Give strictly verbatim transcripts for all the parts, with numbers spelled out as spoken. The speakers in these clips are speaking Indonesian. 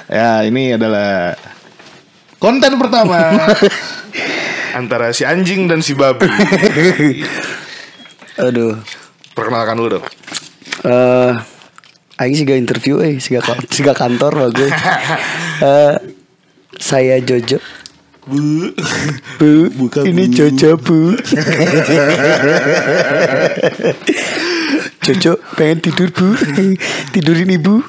Ya, ini adalah konten pertama antara si anjing dan si babi. Aduh. Perkenalkan dulu dong. Eh, uh, aing siga interview eh siga siga kantor bagus. uh, saya Jojo. Bu. Bu, Buka, ini Bu. Jojo, Bu. Jojo pengen tidur, Bu. Tidurin Ibu.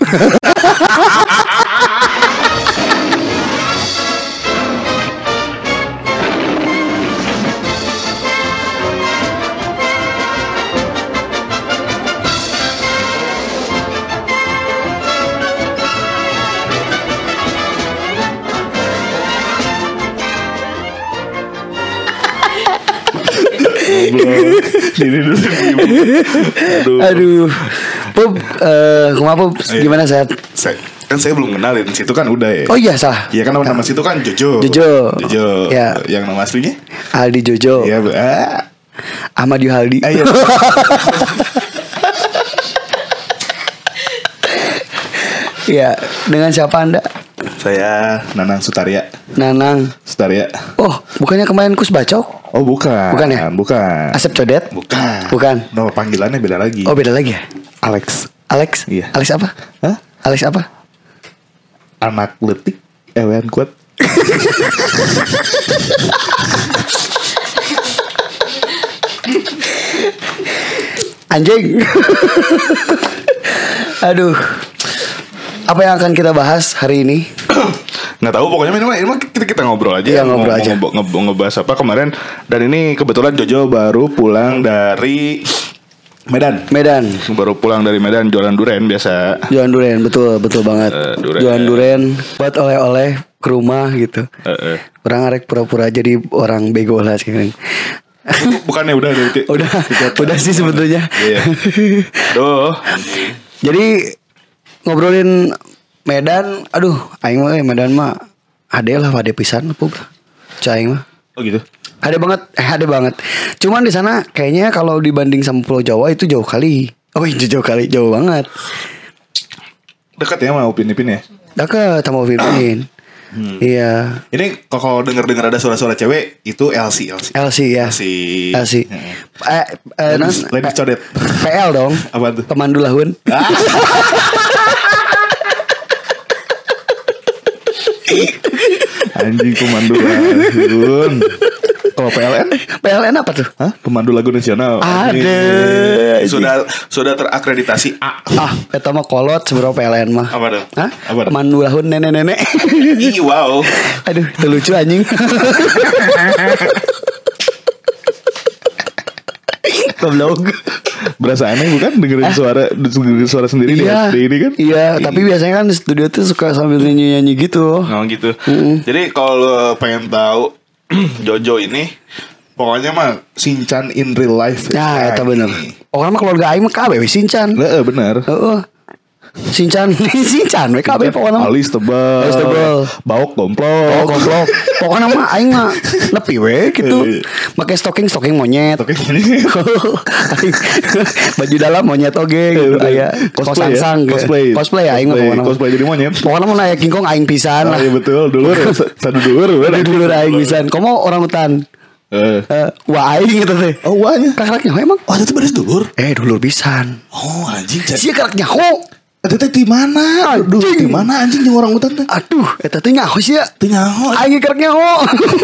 Diri dulu. Aduh. Aduh. Pup, uh, kumaha Pup? Gimana sehat? Saya, kan saya belum kenalin. Situ kan udah ya. Oh iya salah. Iya kan nama situ kan Jojo. Jojo. Jojo. Ya. Yang nama aslinya? Aldi Jojo. Iya, Bu. Ah. Ahmad Yuhaldi. Ayo. Iya, dengan siapa Anda? Saya Nanang Sutaria. Nanang. Sutaria. Oh, bukannya kemarin Kus Bacok? Oh, bukan. Bukan ya? Bukan. Asep Codet? Bukan. Bukan. No, panggilannya beda lagi. Oh, beda lagi ya? Alex. Alex? Iya. Alex apa? Hah? Alex apa? Anak letik, ewean kuat. Anjing. Aduh. Apa yang akan kita bahas hari ini? Nggak tahu, pokoknya ini mah, ini mah kita kita ngobrol aja. Iya, ngobrol mau, aja. Mau, nge, ngebahas apa kemarin. Dan ini kebetulan Jojo baru pulang dari Medan. Medan. Baru pulang dari Medan jualan duren biasa. Jualan duren, betul, betul banget. Uh, duren. Jualan duren buat oleh-oleh ke rumah gitu. Uh, uh. Orang arek pura-pura jadi orang bego lah sekarang. Bukannya udah dari Udah, udah sih sebetulnya. Iya. Duh. Jadi ngobrolin Medan, aduh, aing mah Medan mah ade lah, ade pisan Pup. Aing mah. Oh gitu. Ada banget, eh ada banget. Cuman di sana kayaknya kalau dibanding sama Pulau Jawa itu jauh kali. Oh iya jauh kali, jauh banget. Dekat ya sama Upin Ipin ya. Dekat sama Upin. Hmm. Iya. Ini kalau denger-dengar ada suara-suara cewek itu L C, L C. L C ya. L C. L C. Eh, eh, Ladies, ladies codet. P L dong. Apa tuh? Pemandu lahun. Anjing pemandu lahun. Kalau P L N? P L N apa tuh? Hah? Pemandu lagu nasional. Ada. Sudah sudah terakreditasi A. Ah, eta mah kolot seberapa P L N mah. Apa tuh? Hah? Apa tuh? Pemandu lahun nenek-nenek. Ih, wow. Aduh, itu lucu anjing. Goblok. Berasa aneh bukan dengerin suara dengerin suara sendiri Iya, di ini kan? iya. Tapi biasanya kan di studio tuh suka sambil nyanyi-nyanyi gitu. Oh gitu. Mm-mm. Jadi kalau pengen tahu Jojo ini pokoknya mah Shinchan in real life. Nah, itu bener. Orang mah keluarga aing mah kabeh we Shinchan. Heeh, bener. Heeh. Shinchan, Shinchan we kabeh pokona. Alis tebal. Alis tebal. Bauk domplok. Oh, goblok. Pokoknya mah aing mah nepi we gitu. Pakai stocking stocking monyet. Oke, ini Baju dalam monyet oge gitu aya. cosplay ya? Sang Cosplay. Cosplay aing mah pokona. Cosplay jadi monyet. Pokoknya mah naik kingkong aing pisan Ah, lah. iya betul, dulur. Satu dulur. Udah dulu aing pisan. Komo orang hutan. Eh. Eh, wah aing gitu teh. Oh, wahnya. Kakaknya emang. Oh, itu beres dulur. Eh, dulur pisan. Oh, anjing. Sia kakaknya ho. Itu teh di mana? Aduh, di mana anjing jeung orang hutan teh? Aduh, eta teh nyaho sia. Teu nyaho. Aing kereknya ho.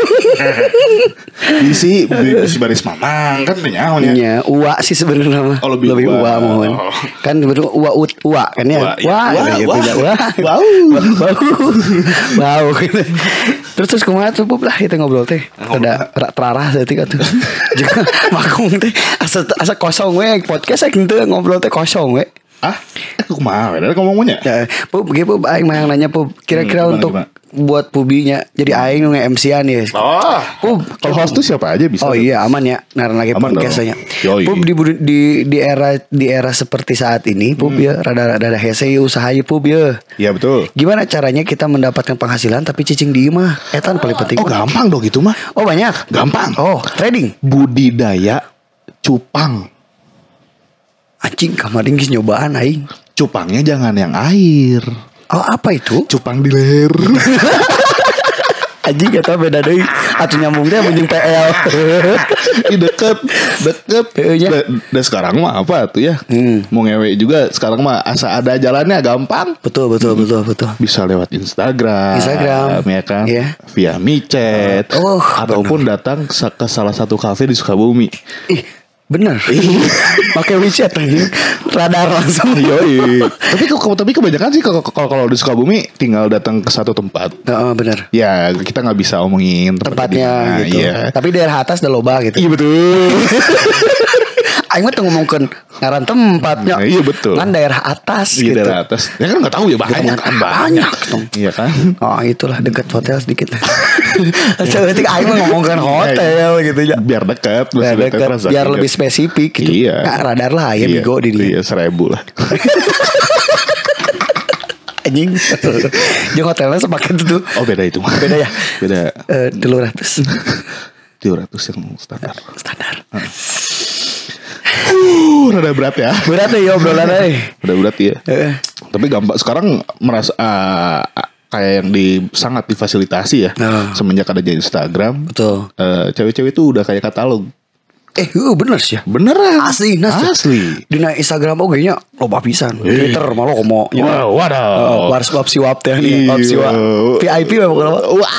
Isi si baris mamang kan teu nyaho nya. Nya, ua sih sebenarnya mah. Oh, lebih ua. ua mohon. Oh. Kan sebenarnya ua ut ua kan ya. Ua, iya. Wah, Wah, ya wah. tidak wah. Wow. Wow. Terus terus kumaha tuh Pup lah kita ngobrol teh. Ada terarah tadi atuh. Juga makung teh asa asa kosong we podcast saking teh ngobrol teh kosong we. Ah, aku kumaha we? Ada ngomongnya? Ya, Pup, gitu Pup, aing mah yang nanya Pup, kira-kira Hmm, gimana, untuk gimana? buat Pubinya, jadi aing nge-M C-an ya. Oh, Pup, kalau host tuh siapa aja bisa. oh iya aman ya, naran lagi Aman podcastnya. dong. Yoi. Pup di, di di era di era seperti saat ini, Pup ya, rada rada hese usaha ya Pup ya. Iya betul. Gimana caranya kita mendapatkan penghasilan tapi cicing di imah? Etan paling penting. Oh gampang dong gitu mah. Oh banyak. Gampang. Oh trading. Budidaya cupang. Anjing kamarin geus nyobaan aing. Cupangnya jangan yang air. Oh, apa itu? Cupang di leher. Anjing gak tau beda deui. Atuh nyambung teh anjing P L. Ih deket, deket. Iya. Da, da sekarang mah apa tuh ya? Hmm. Mau ngewe juga sekarang mah asa ada jalannya gampang. Betul betul betul betul. Bisa lewat Instagram, Instagram. ya kan? Iya. Via micet, Oh, ataupun datang ke ke salah satu kafe di Sukabumi. Ih, bener. Pakai WeChat anjing. Radar langsung. Yoi. tapi ke- tapi kebanyakan sih kalau kalau kalau di Sukabumi tinggal datang ke satu tempat. Heeh, bener. Ya kita nggak bisa omongin Tempatnya di mana, gitu. Iya. Tapi daerah atas udah loba gitu. Iya betul. Aing mah tuh ngomongkeun ngaran tempatnya. Nah, iya betul. Kan daerah atas Iya gitu. daerah atas. Ya kan nggak tahu ya banyak kan Banyak dong. Iya kan. Oh itulah dekat hotel sedikit. Berarti Aing mah ngomongkan hotel gitu ya. Biar dekat, Biar masih dekat, transaksi biar kan. lebih spesifik gitu. Iya. Nah, radar lah ya bigo di dia. Iya seribu lah. Anjing. Jeung hotelnya sepaket itu. Oh beda itu. Beda ya? Beda. Eh, dulu ratus Tujuh ratus yang standar. standar. Uh, rada berat ya. Berat ya obrolan euy. Rada berat ya. Heeh. Tapi gampang sekarang merasa ah, kayak yang di sangat difasilitasi ya. Nah. Semenjak ada jadi Instagram. Betul. eh, cewek-cewek itu udah kayak katalog. Eh, heeh bener sih ya. Beneran. Asli, nas ya. Asli. Dina Instagram oge nya loba pisan. Eh. Twitter malah komo. Wow, wadaw. Wars wap siwap teh nih, wap Iya. siwap. V I P mah pokoknya. Wah.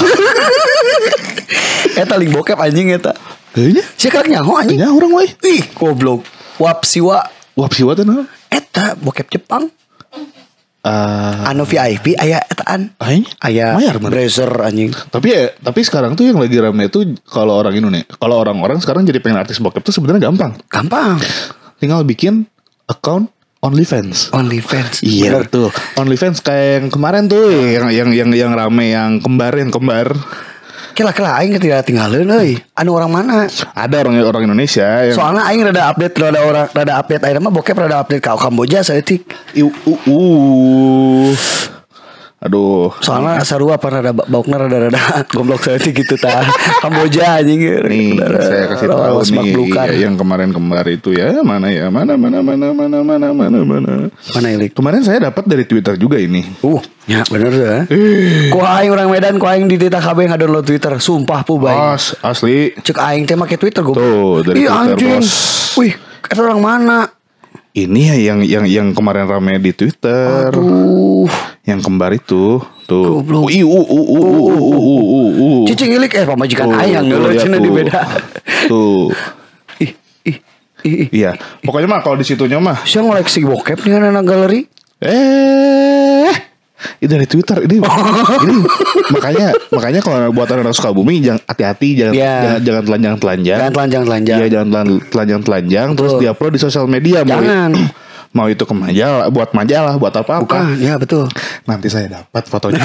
Eta link bokep anjing eta. Kayaknya. Si kak nyaho anjing. Ya orang weh. Ih, goblok. Wap siwa Wah siwa tuh nah. eta bokep Jepang. Ah, Anu V I P aya etaan. Aing? Aya Mayar, man. Brazer anjing. Tapi ya, tapi sekarang tuh yang lagi rame itu kalau orang Indonesia, kalau orang-orang sekarang jadi pengen artis bokep tuh sebenarnya gampang. Gampang. Tinggal bikin account OnlyFans. OnlyFans. Iya Bener. betul. OnlyFans kayak yang kemarin tuh yang yang yang yang rame yang kembar yang kembar. Kela-kela aing ketika tinggalin euy. Anu orang mana? Ada orang orang Indonesia yang Soalnya aing rada update rada orang rada update aing mah bokep rada update ka Kamboja saeutik. Iu, uh, uh. Aduh. Soalnya sarua apa rada baukna rada-rada goblok saeutik gitu tah. Kamboja anjing. Nih saya kasih tahu nih ya, yang kemarin kembar itu ya mana ya mana mana mana mana mana mana mana. Mana ilik? Kemarin saya dapat dari Twitter juga ini. Uh, ya bener ya. Ku aing orang Medan, ku aing di Tita K B ngadownload Twitter, sumpah pu bae. As, asli. Cek aing teh make Twitter goblok. Tuh, dari Ih, Twitter, anjing. bos. Wih, eta orang mana? Ini ya yang yang yang kemarin rame di Twitter. Aduh. Yang kembar itu tuh. Goblok. Uh, uh, uh, uh, uh, uh, uh, uh, uh. Cicing ilik eh pamajikan Tuh, aing tuh, geuleuh lihat cenah di tuh. beda. Tuh. Ih, ih, ih. Iya. Pokoknya mah kalau di situnya mah Saya ngoleksi bokep nih anak galeri. eh ini dari Twitter ini ini makanya makanya kalau buat orang Sukabumi jangan hati-hati jangan Iya. jangan jangan telanjang telanjang Jangan telanjang-telanjang. Iya jangan telan- telanjang telanjang terus Betul. diupload di sosial media mau Jangan. mau itu ke majalah buat majalah buat apa apa Bukan, ya betul. nanti saya dapat fotonya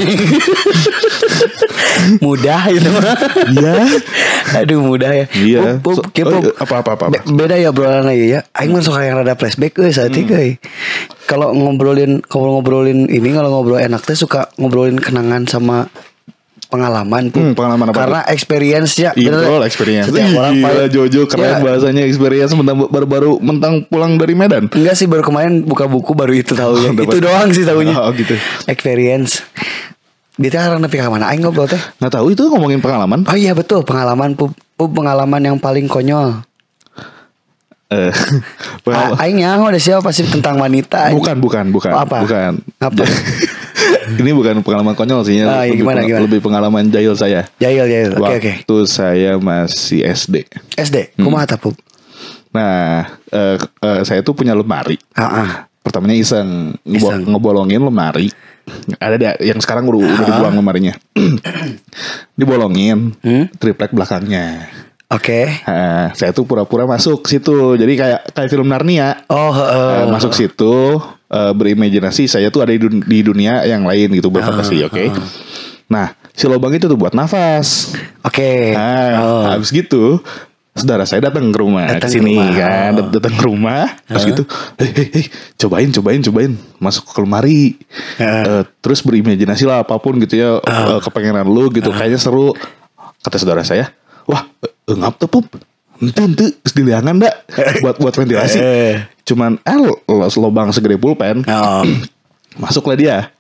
Mudah itu mah. iya Aduh mudah ya. iya Pup, So- pup, kieu, pup. oh, apa apa apa, apa. Be- beda ya obrolan ya. Aing mah suka yang rada flashback euy saat itu euy. Kalau ngobrolin ngobrol-ngobrolin ini kalau ngobrol enak teh suka ngobrolin kenangan sama pengalaman Pup. Hmm, pengalaman apa Karena experience ya. Iya bener. betul experience. Setiap orang Gila, paling- Jojo keren Ya. bahasanya experience mentang baru-baru mentang pulang dari Medan. Enggak sih baru kemarin buka buku baru itu tahunya. Oh, dapat. Itu doang sih tahunya. Oh, gitu. Experience. Dia karena nepi ka mana aing ngobrol teh. Nggak tahu itu ngomongin pengalaman. Oh iya betul pengalaman Pup. Pup pengalaman yang paling konyol. Eh, pengalaman- A- Aing nyaho ada siapa pasti tentang wanita. bukan bukan bukan Oh, apa? bukan. Apa? Ini bukan pengalaman konyol sih Ah, iya, lebih, gimana, peng- gimana? lebih pengalaman jahil saya. Jahil jahil. Oke oke. Waktu saya masih S D. S D. Kumaha ta Pup? Nah, eh, eh, saya tuh punya lemari. Heeh. Pertamanya iseng, ngebo- Iseng. ngebolongin lemari. Ada deh yang sekarang udah, udah dibuang lemarinya. Dibolongin, Hmm? triplek belakangnya. Oke. Nah, saya tuh pura-pura masuk situ. Jadi kayak kayak film Narnia. Oh heeh. Eh, masuk situ eh, berimajinasi saya tuh ada di, dun- di dunia yang lain gitu berfantasi, oke. Nah, si lubang itu tuh buat nafas. Oke. Nah, Oh. habis gitu saudara saya datang ke rumah ke Datang ke sini rumah. kan, Oh. Dat- datang ke rumah, terus gitu, hei, hei, hei, cobain, cobain, cobain, masuk ke lemari, Heeh. Eh, terus berimajinasi lah apapun gitu ya, eh, kepengenan lu gitu, kayaknya seru, kata saudara saya, wah, eh, ngap tuh Pup, ente ente, terus diliangan dak, buat buat ventilasi, Eh. cuman eh lo- lo- lobang segede pulpen, Oh. masuklah dia,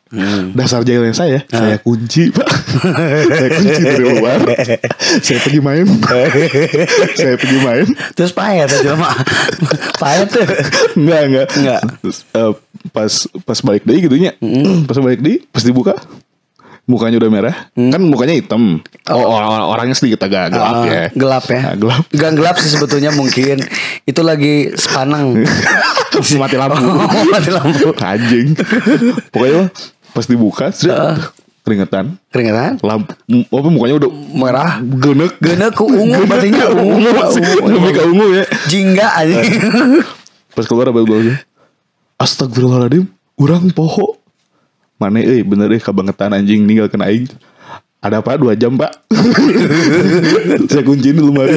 Hmm. Dasar jahilnya saya, ah. saya kunci pak, saya kunci dari luar, saya pergi main, saya pergi main. Terus payet aja mah, payet tuh. Enggak enggak. Enggak. Terus, uh, pas pas balik deh gitunya, mm. pas balik deh, pas dibuka, mukanya udah merah, mm. kan mukanya hitam. Oh, orang orangnya sedikit agak gelap uh, ya. Gelap ya. Nah, gelap. Gak gelap sih sebetulnya mungkin itu lagi sepanang. Mati lampu. Oh, mati lampu. Anjing. Pokoknya pas dibuka, uh, keringetan. Keringetan? Lampu, apa mukanya udah merah, genek, genek ke ungu, batinnya ungu, ungu, lebih ke ungu ya. Jingga aja. Pas keluar apa bilang, astagfirullahaladzim, urang poho. Mana eh bener eh kabangetan anjing ninggalkeun aing. Ada apa dua jam pak? Saya kunciin di lemari.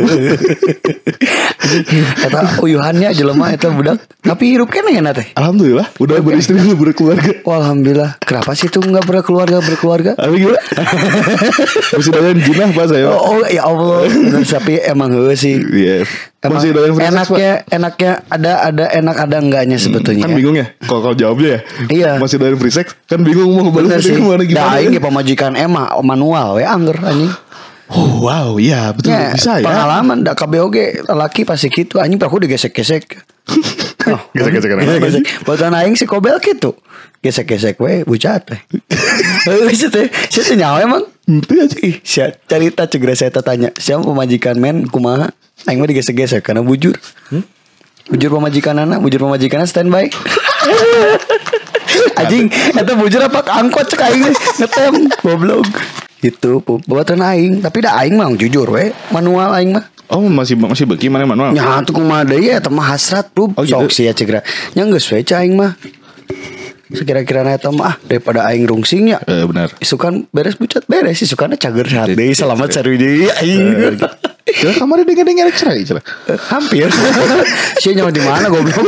Kata uyuhannya jelema eta budak. Tapi hirup kan enak teh. Alhamdulillah udah beristri udah berkeluarga. Oh, alhamdulillah. Kenapa sih tuh nggak berkeluarga berkeluarga? Apa gila? Masih doyan jinah pak saya. Oh, oh ya Allah. Tapi emang heeh sih. Iya. Emang enaknya enaknya ada ada enak ada enggaknya sebetulnya. Kan bingung ya kalau kalau jawabnya ya. Iya. Masih doyan free sex kan bingung mau balas gimana gimana. Da aing pamajikan Emma manual we angger anjing. Oh wow, iya betul ya, bisa ya. Pengalaman da K B O G laki pasti gitu anjing aku digesek-gesek. Oh, gesek-gesek kan. Botan aing si Kobel gitu. Gesek-gesek we bucat teh. Heeh teh, sieu nyawa emang. Henteu aja. Ih, sia carita cegra saya tanya, siapa pemajikan men kumaha? Aing mah digesek-gesek karena bujur. Hmm? Bujur pemajikanana, bujur pemajikanana standby. Anjing, eta bujur apa angkot cek aing ngetem goblok. Gitu, buatan aing, tapi da aing mah jujur we, manual aing mah. Oh, masih masih beki mana manual? Nya tuh kumaha deui eta mah hasrat, Bro. Oh, sok gitu? Sia cegra. Nya geus we cai aing mah. Sekira-kira eta mah ah, daripada aing rungsingnya. Eh benar. Isukan beres bucat beres, isukana cager saat deui selamat sarui deui aing. Ya kamari dengar-dengar cerai cerai. Hampir. Sia nyawa di mana goblok?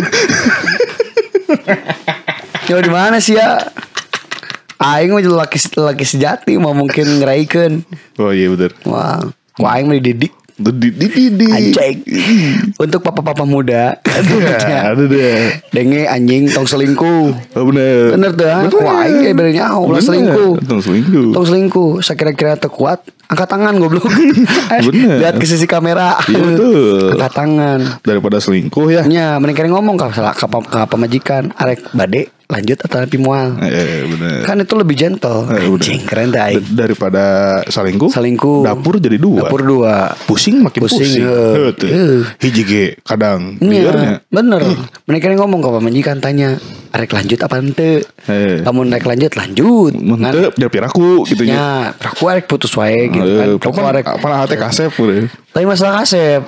Nyawa di mana sih ya? Aing mah laki laki sejati mah mungkin ngeraikeun. Oh iya benar. Wah, ku aing mah dididik. Dididik. Anjing. Untuk papa-papa muda. Ada deh. Denge anjing tong selingkuh. Oh benar. Bener tuh. Ku aing kayak benernya ulah selingkuh. Tong selingkuh. Tong selingkuh. Sakira-kira teu kuat, angkat tangan goblok. Bener. Lihat ke sisi kamera. Iya betul. Angkat tangan. Daripada selingkuh ya. Nya, mending kere ngomong ka salah ka pamajikan, arek bade lanjut atau lebih mual. Eh, bener. Kan itu lebih gentle. Eh, anjing keren dah. Daripada selingkuh. Selingkuh. Dapur jadi dua. Dapur dua. Pusing makin pusing. pusing. Uh, uh. Hiji ge kadang liarnya. Bener. Uh. Mereka ngomong ke pamajikan tanya, arek lanjut apa ente? Eh. Kamu naik lanjut lanjut. Ente biar piraku gitu ya. Piraku arek putus wae gitu uh, kan. Pokok arek apa hate kasep udah. Tapi masalah kasep.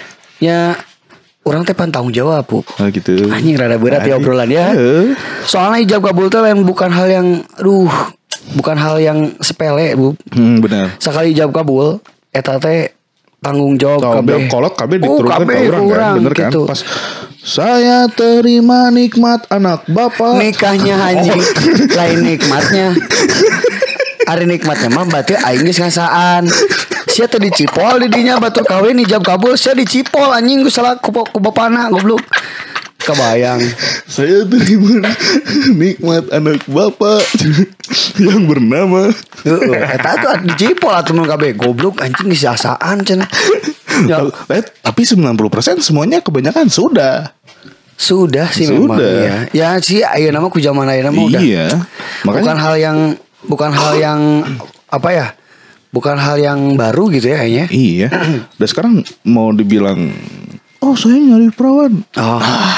Ya orang teh pan tanggung jawab, Bu. Oh gitu. Anjing rada berat ya obrolan ya. Uh. Soalnya ijab kabul teh lain bukan hal yang aduh, bukan hal yang sepele, Bu. Hmm, benar. Sekali ijab kabul eta teh tanggung jawab kabeh. Kolot kabeh diturunkan ke orang kan, bener kan? Gitu. Pas saya terima nikmat anak bapak. Nikahnya anjing. Lain nikmatnya. Ari nikmatnya mah berarti aing geus ngasaan. Sia teh dicipol di dinya batur kawin ijab kabul sia dicipol anjing geus salah ku ku bapana goblok. Kebayang. Saya terima nikmat anak bapak yang bernama. Heeh, eta tuh dicipol atuh mun kabeh goblok anjing geus asaan cenah. Ya, tapi sembilan puluh persen semuanya kebanyakan sudah. Sudah sih sudah. Memang ya. Ya sih ayeuna mah ku zaman ayeuna mah udah. Iya. Makanya, bukan hal yang bukan hal yang apa ya? Bukan hal yang baru gitu ya kayaknya. Iya. Dan sekarang mau dibilang, oh saya nyari perawan. Oh,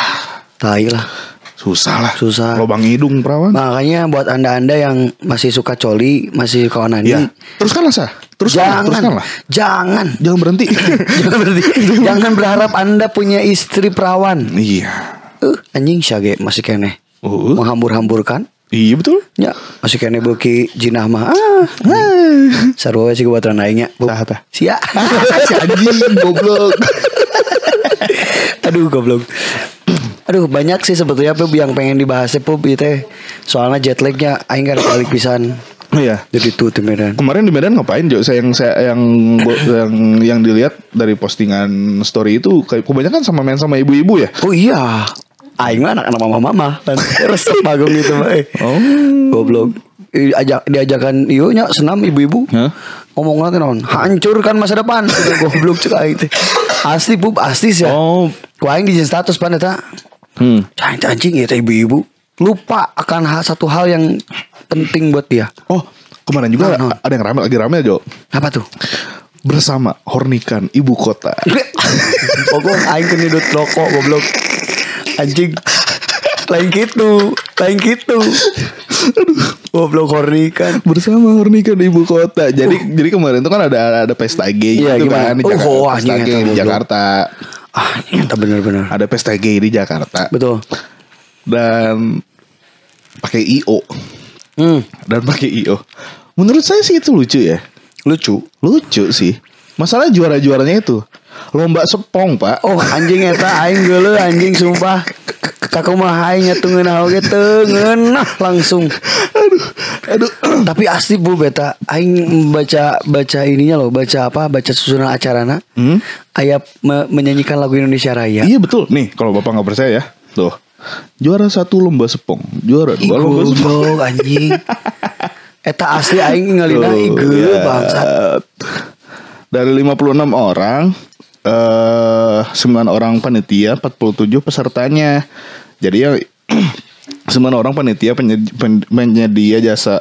tai lah. Susah lah. Susah. Lobang hidung perawan. Makanya buat anda-anda yang masih suka coli, masih suka onani. Ya. Teruskanlah sah. Teruskanlah. Jangan. Teruskanlah. Jangan. Jangan berhenti. Jangan berhenti. Jangan berharap anda punya istri perawan. Iya. Uh, anjing syage masih kene. Uh. Menghambur-hamburkan. Iya betul. Ya, masih kene beuki jinah mah. Ah. Sarua sih kebetulan aingnya. Tah tah. Sia. Si anjing goblok. Aduh goblok. Aduh banyak sih sebetulnya Pup yang pengen dibahas Pup gitu. Soalnya jet lagnya aing kan balik pisan. Iya. Jadi tuh di Medan. Kemarin di Medan ngapain Jo? Saya yang saya yang yang yang dilihat dari postingan story itu kayak kebanyakan sama main sama ibu-ibu ya. Oh iya. Aing mah anak-anak mama-mama kan. Resep bagung gitu mah. Eh. Oh. Goblok. Ajak diajakan ieu nya senam ibu-ibu. Hah? Ngomong nanti naon? Hancurkan masa depan. Gitu, goblok cek aing teh. Asli pup, asli sih. Oh. Ku aing di status pan eta. Hmm. Cang anjing ya teh ibu-ibu. Lupa akan hal, satu hal yang penting buat dia. Oh, kemarin juga Nah, nah. ada yang rame lagi rame aja. Apa tuh? Bersama Hornikan Ibu Kota. Pokok aing ke nyedot rokok goblok. Anjing. Lain gitu, lain gitu. Goblok Hornikan. Bersama Hornikan Ibu Kota. Jadi uh. jadi kemarin itu kan ada ada pesta gay Iya, gitu gimana? kan di Oh, Jakarta. oh, Pesta anjing, gay eta di goblok. Jakarta. Ah, nyata bener-bener. Ada pesta gay di Jakarta. Betul. Dan pakai I O. Hmm. Dan pakai I O. Menurut saya sih itu lucu ya. Lucu. Lucu sih. Masalah juara-juaranya itu lomba sepong, Pak. Oh, anjing eta aing geuleuh anjing sumpah. Kakumaha aing nyatungeun oge teu ngeunah langsung. Aduh, aduh. Tapi asli Bu beta aing baca baca ininya loh, baca apa? Baca susunan acarana. Hmm? Aya me- menyanyikan lagu Indonesia Raya. Iya betul. Nih, kalau Bapak nggak percaya ya. Tuh. Juara satu lomba sepong, juara dua lomba sepong. Goblok anjing. Eta asli aing ngalina Tuh, geuleuh ya. bangsat. Dari lima puluh enam orang, eh sembilan orang panitia, empat puluh tujuh pesertanya. Jadi ya sembilan orang panitia penyedia, penyedia jasa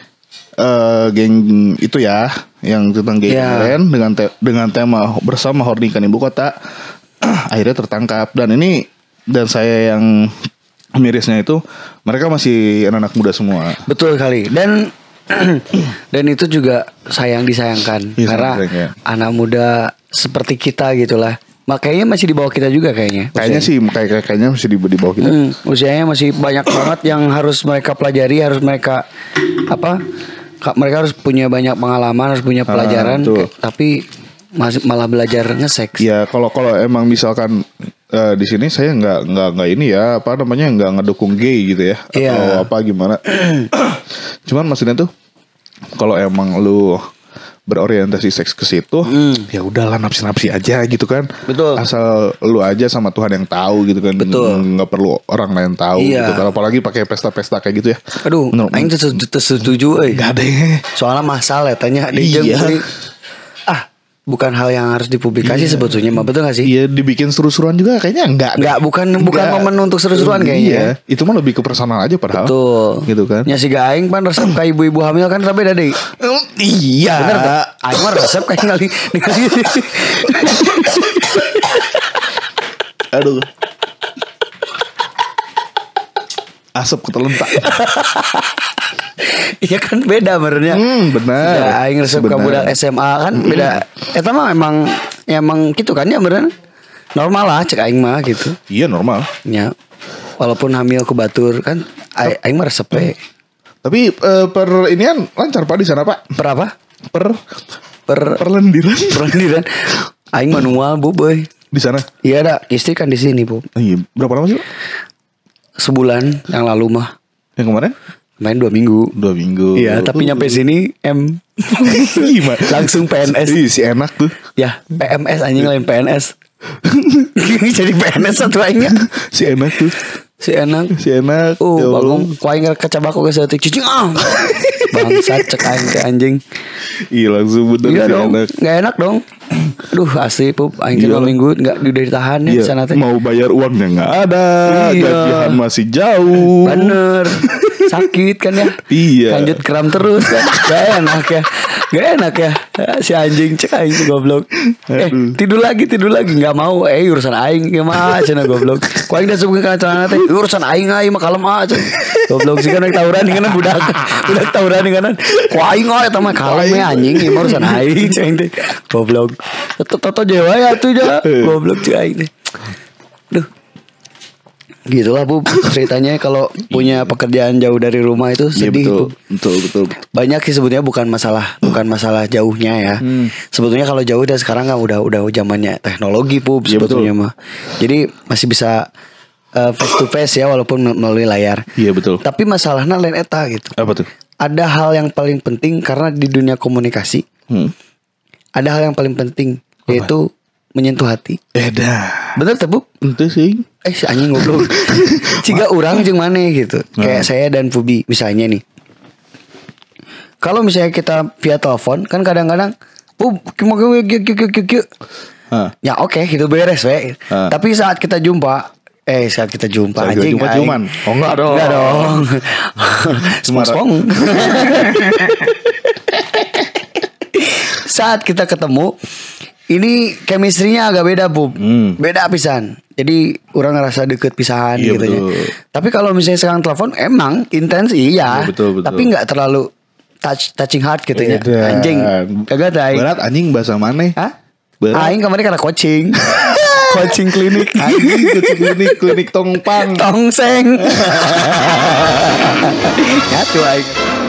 eh geng itu ya, yang tentang geng Ya. kemarin dengan te- dengan tema bersama Hornikan Ibu Kota. Akhirnya tertangkap, dan ini dan saya yang mirisnya itu mereka masih anak-anak muda semua. Betul kali. Dan dan itu juga sayang disayangkan Iya, karena sayang, ya. anak muda seperti kita gitulah. Makanya masih di bawah kita juga kayaknya. Kayaknya sih kayak kayaknya masih di, di bawah kita. Hmm, usianya masih banyak banget yang harus mereka pelajari, harus mereka apa? ka- Mereka harus punya banyak pengalaman, harus punya pelajaran, betul. ke- tapi masih malah belajar nge-seks. Ya kalau kalau emang misalkan eh, di sini saya nggak nggak nggak ini ya apa namanya nggak ngedukung gay gitu ya Iya. atau apa gimana. Cuman maksudnya tuh kalau emang lu berorientasi seks ke situ, ya udahlah nafsi-nafsi aja gitu kan. Betul. Asal lu aja sama Tuhan yang tahu gitu kan. Betul. Nggak perlu orang lain tahu Iya. gitu. Kalau apalagi pakai pesta-pesta kayak gitu ya. Aduh, Menurut- aing tuh setuju, setuju euy. Gak ada ya. Soalnya masalah ya tanya di Iya. jeung- Ah, bukan hal yang harus dipublikasi sebetulnya, mah betul gak sih? Iya dibikin seru-seruan juga kayaknya enggak. Enggak, bukan bukan Enggak. momen untuk seru-seruan Iya, kayaknya. itu mah lebih ke personal aja padahal. Tuh. Gitu kan. Ya si aing pan resep ka ibu-ibu hamil kan beda deh. Iya. Bener tuh. Aing mah resep kayak ngali ngali. Aduh. Asap ketelentak. Iya kan beda benernya. Hmm, benar. Ya, aing resep ka Benar. budak S M A kan beda. Eta mah emang emang gitu kan ya bener. Normal lah cek aing mah gitu. Iya normal. Ya. Walaupun hamil ku batur kan aing, aing mah resep we. Tapi eh, per inian lancar Pak di sana Pak. Per apa? Per Per perlendiran perendiran. Aing manual bu boy. di sana. Iya ada istri kan di sini bu. Oh, iya. Berapa lama sih Pak? Sebulan yang lalu mah. Yang kemarin? Main dua minggu. Dua minggu. Iya, tapi nyampe sini M Gimana? langsung P N S. Ih, si enak tuh. Ya, P M S anjing lain P N S. Jadi P N S satu aingnya. Si enak tuh. Si enak. Si enak. Oh, Ya Allah. bagong ku aing kecabak ke setik cicing ah. Bangsat cek aing teh anjing. Iya langsung bener Iya si dong, enak. enggak enak dong. Aduh, asli pup aing teh Iya. dua minggu enggak udah ditahan ya Iya, sana teh. mau bayar uangnya nggak ada, Iya. gajian masih jauh. Bener. Sakit kan ya. Iya. Lanjut kram terus kan. Gak enak ya. Gak enak ya. Si anjing cek aing tuh goblok. Eh Aduh. tidur lagi tidur lagi nggak mau. Eh urusan aing gimana cenah goblok. Ku aing dah sebutkeun kana celana teh. Urusan aing aing mah kalem ah cenah. Goblok sih kan tawuran dengan budak. Budak tawuran dengan ku aing oh eta mah kalem we anjing ieu mah urusan aing cek aing teh. Goblok. Toto jewa ya tuh ja. Goblok cek aing teh. Duh. Gitulah Bu ceritanya kalau punya pekerjaan jauh dari rumah itu Iya sedih betul, Bu. betul, betul, betul. Banyak sih sebetulnya bukan masalah bukan masalah jauhnya ya. Hmm. Sebetulnya kalau jauh dan sekarang kan udah udah zamannya teknologi Bu Iya, sebetulnya betul. mah. Jadi masih bisa uh, face to face ya walaupun melalui layar. Iya betul. Tapi masalahnya lain eta gitu. Apa tuh? Ada hal yang paling penting karena di dunia komunikasi Hmm. ada hal yang paling penting yaitu menyentuh hati. Eda. Bener tuh Bu? Itu sih. Eh si anjing goblok. Ciga urang jeung maneh gitu. Kayak saya dan Pubi misalnya nih. Kalau misalnya kita via telepon kan kadang-kadang Pub mau ya oke okay, gitu beres we. Uh. Tapi saat kita jumpa eh saat kita jumpa saat anjing jumpa cuman oh enggak dong. Enggak dong. Spong. Saat kita ketemu ini chemistry-nya agak beda, Bub. Hmm. Beda pisan. Jadi orang ngerasa deket pisahan iya, gitu ya. Tapi kalau misalnya sekarang telepon emang intens iya. Ya, betul, betul. Tapi nggak terlalu touch touching heart gitu ya. Anjing. Kagak ada. Berat anjing bahasa mana? Hah? Berat. Aing kemarin karena coaching. Coaching klinik. Anjing coaching klinik, klinik tongpang. Tongseng. Ya tuh aing.